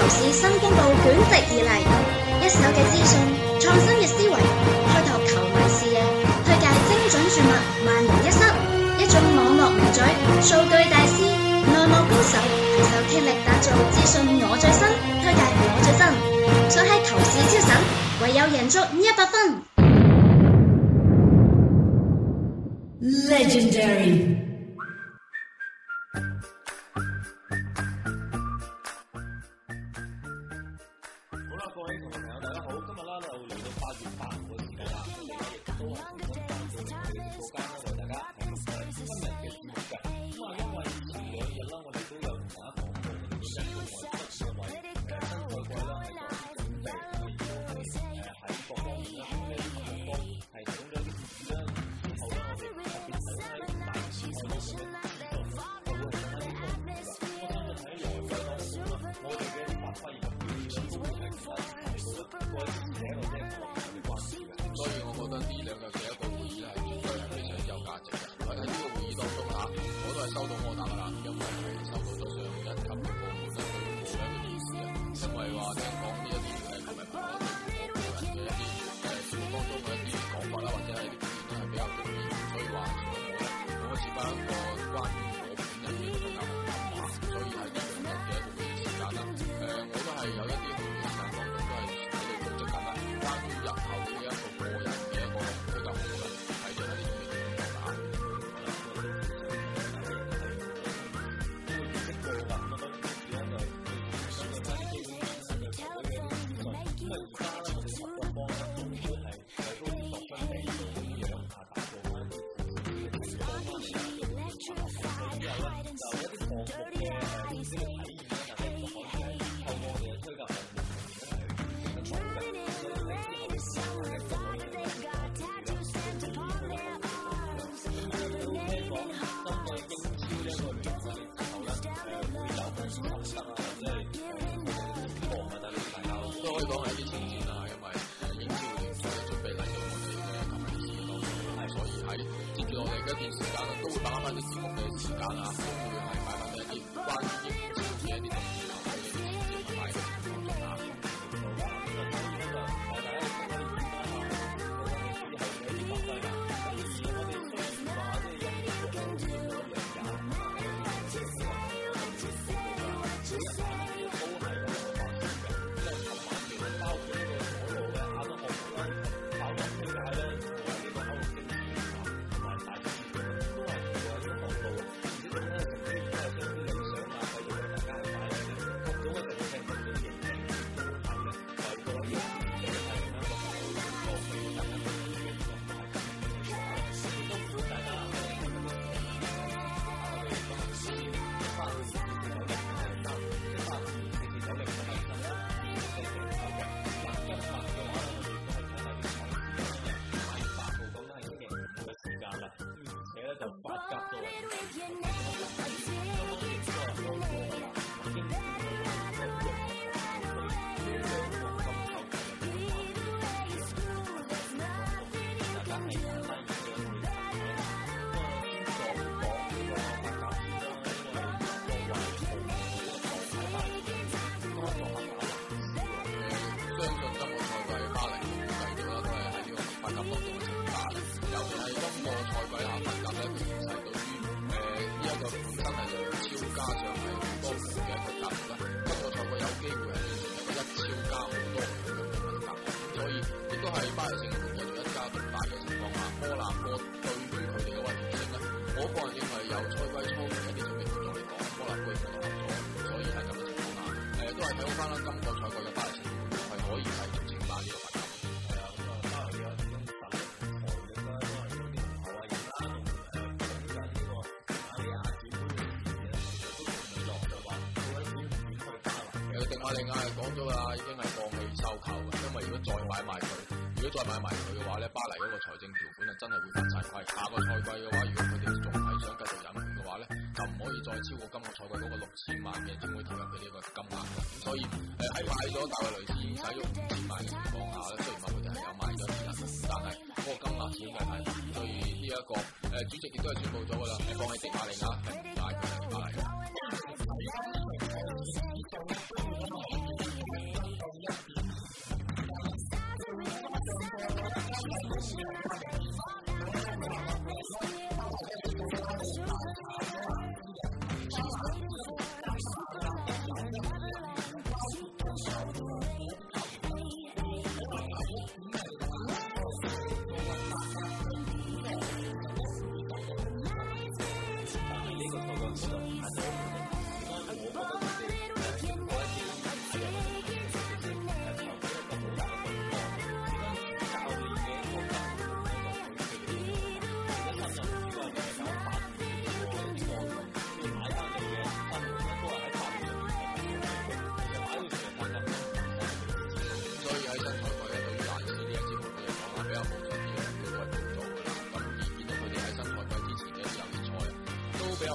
市新公佈捲席而嚟，一手嘅資訊，創新嘅思維，開拓球迷視野，推介精準注物，萬無一失。一種網絡名嘴，數據大師，內幕高手，攜手傾力打造資訊我最新，推介我最新，想喺球市超神，唯有贏足100分。 Legendary。 各位同學朋友，大家好！今日啦就嚟到8月8號嘅時間啦，我哋亦都係重新翻到嚟我哋嘅報間啦，為大家係今日嘅節目嘅。咁啊，因為前2日啦，我哋都有同大家講過，我哋本身都係為新賽季啦，係做準備，喺各方面啦，我哋各方係提供咗啲建議啦。之後咧，我哋特別睇喺大市場嗰邊嘅資訊，就會更加啲豐富啦。我相信喺來季當中啦，我哋嘅發揮同表現都會係其他所以我覺得呢兩日嘅一個會議係絕對係非常之有價值嘅。喺呢個會議當中我都係收到柯打噶啦，因為係收到咗上一級嘅部門咧對我嘅一個意思啊。因為話聽講呢一啲係球迷朋友對我個人嘅一啲節目當中嘅一啲講法啦，或者係啲意見係比較正面，所以話我設翻一個關於我本人嘅一個比較好嘅話，所以喺呢兩日嘅一個會議時間啦，我都係有一啲會議時間當中都係關於日後嘅一個個人嘅一個推介項目咧，係做一啲準備工作㗎。都可以講係一啲前瞻啦，因為英超聯賽準備嚟到我哋嘅球迷市當中，所以喺接住落嚟嘅一段時間咧，都會把握翻啲節目嘅時間啊，都會係擺翻一啲關於英超嘅一啲特別球隊嘅啲資訊同埋嘅節目當中啊。另外係講咗啦，已經係放棄收購嘅，因為如果再買埋佢嘅話咧，巴黎嗰個財政條款啊真係會犯晒規。下個賽季嘅話，如果佢哋仲係想繼續引援嘅話咧，就唔可以再超過今個賽季嗰個6000萬嘅轉會投入嘅呢個金額。咁所以喺買咗大衛雷斯使咗5000萬嘅情況下咧，雖然話佢哋係有買咗啲人，但係嗰個金額始終係太大，所以呢一個主席亦都係宣布咗㗎啦，放棄迪馬利亞係唔買佢哋巴黎嘅。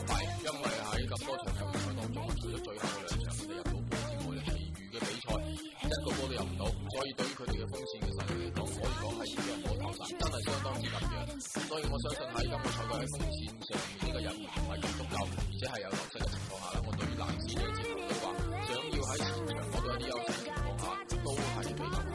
弊，因為喺咁多場球賽當中，除咗最後嘅2場佢哋入到波之外，其餘嘅比賽一個波都入唔到，所以對於佢哋嘅鋒線嘅實力嚟講，可以講係讓我投散，真係相當之緊張。所以我相信喺今個賽季喺鋒線上面呢個人員唔係咁足夠，而且係有流失嘅情況下啦，我對於蘭斯呢個節目嘅話，想要喺前場攞到一啲優勢嘅情況下，都係比較難。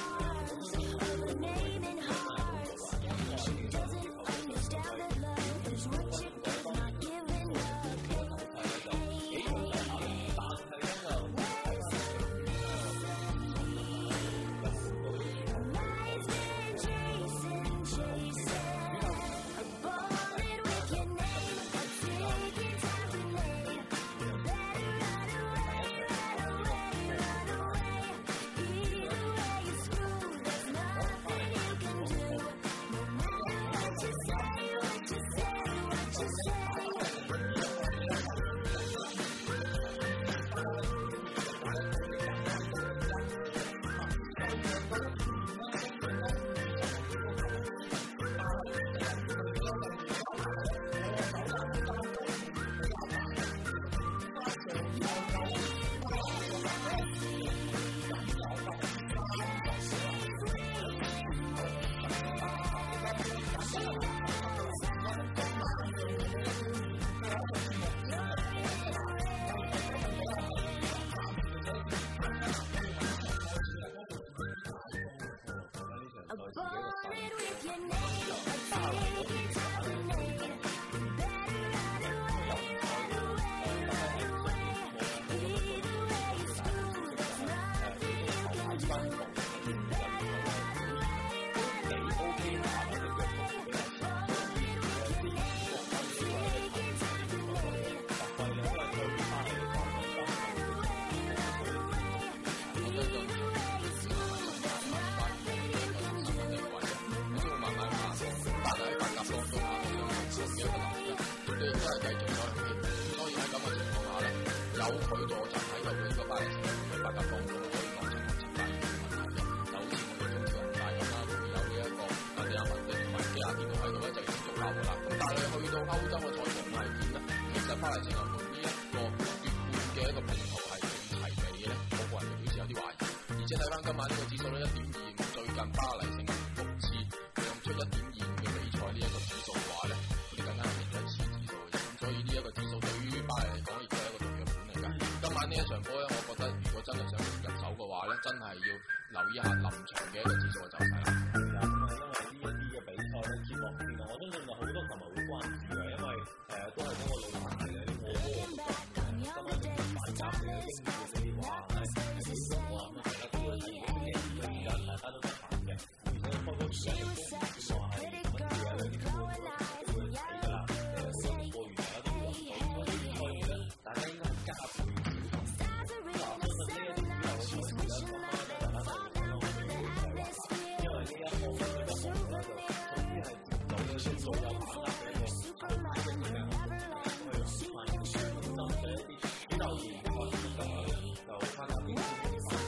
有佢助陣喺度嘅嗰班嘅白鴿當中，可以講成係徹底嘅問題嘅。就好似我哋中超恒大咁啦，會有呢一個李亞文嘅同埋基亞電腦喺度咧，就已經足夠㗎啦。咁但係去到歐洲嘅賽場係點咧？其實巴黎聖日門呢一個奪冠嘅一個拼圖係齊備嘅咧，我個人就表示有啲懷疑。而且睇翻今晚呢個指數咧1.25，最近巴黎聖日門6次讓出1.25嘅比賽呢一個指數嘅話咧，佢哋更加係贏咗1次指數嘅。咁所以呢一個指數對於巴黎嚟講，亦都係一個重要盤嚟㗎。今晚呢一場波咧，我覺得如果真係想入手嘅話咧，真係要留意一下臨場嘅一個指數嘅走勢啦。 係啦，咁啊，因為呢一啲嘅比賽咧，接落嚟，我相信就好多球迷會關注嘅，因為都係嗰個老問題嘅，啲過波嘅今晚反甲嘅英超嘅話係點講啊？咁大家都會睇嘅，而家大家都得閒嘅，而且開波時間亦都唔算話係乜嘢啊，有啲波都會睇㗎啦。過完有啲黃組，所以咧，大家應該加倍小心。嗱，相信呢一啲有時咧，今晚咧，大家都會睇到我哋嘅比賽話，因為呢一項嘅項目咧，就屬於係有嘅數數有把握嘅一個球隊嘅項目，去慢慢小心嘅一啲比較嚴格嘅就參加啲大家都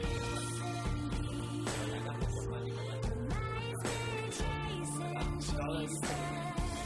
做翻啲咁嘅。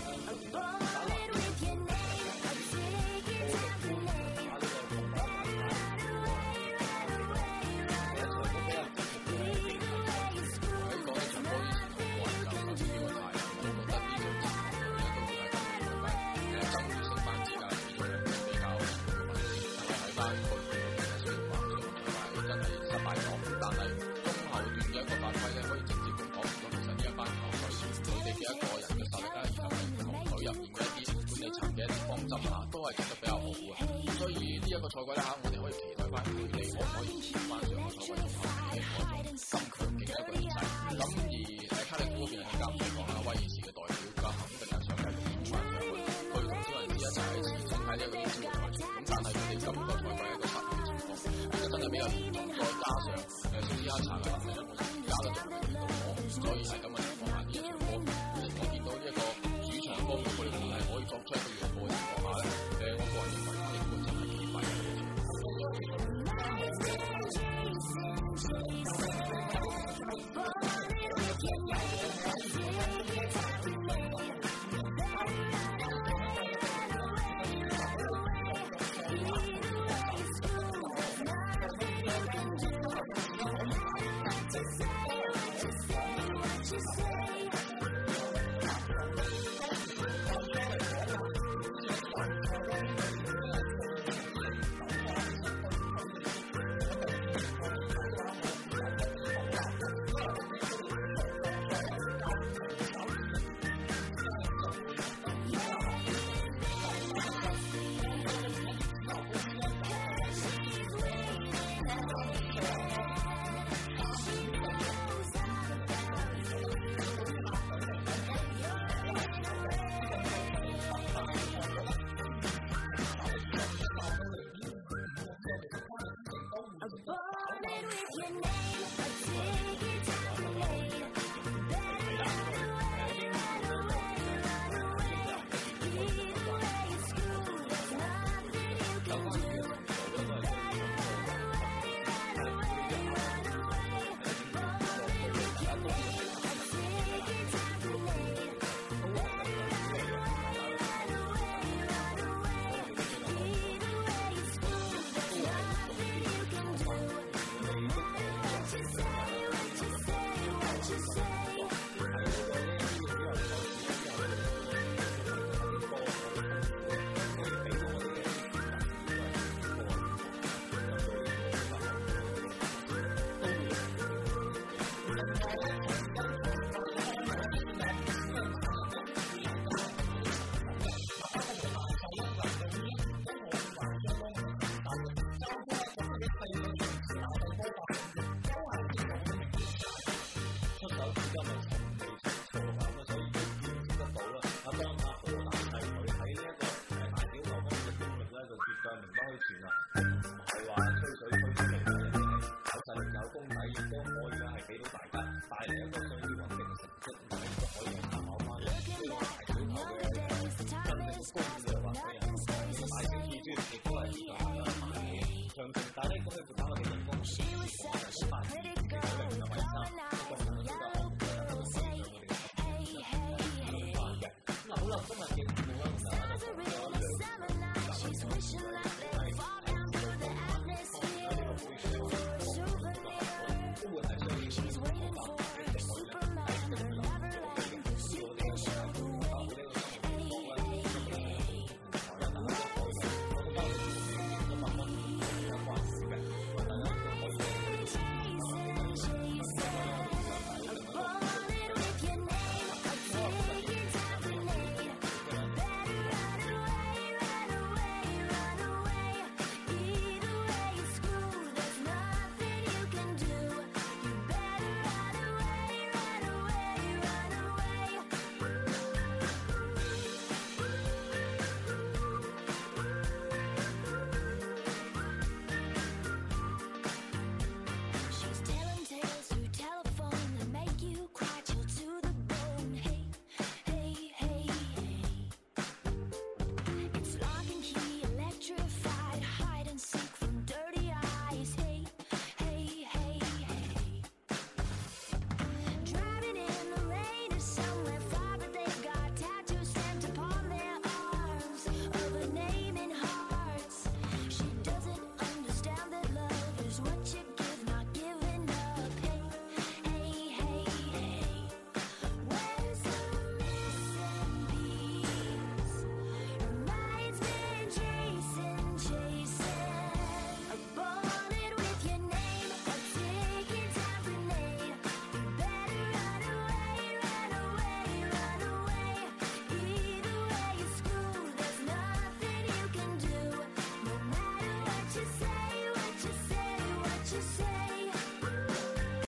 都係做得比較好嘅，所以呢一個賽季咧我哋可以期待翻佢哋可唔可以接翻上個賽季中後嘅嗰種咁強勁嘅一個形勢。咁而卡利夫嗰邊更加唔使講啦，威爾士嘅代表更肯定係想繼續衝翻上去，佢同小人士一齊喺前身喺呢一個英超嘅賽場。咁但係佢哋今個賽季一個失誤嘅情況，其實真係比較嚴重，再加上蘇斯克查嘅能力咧，我而家都仲未見到我，所以喺咁嘅情況下，呢一場波我見到呢一個主場方面佢哋係可以作出一個讓步嘅情況下咧。我個人認為呢個真係幾弊嘅。 今日嘅節目咧，同大家就講咗兩個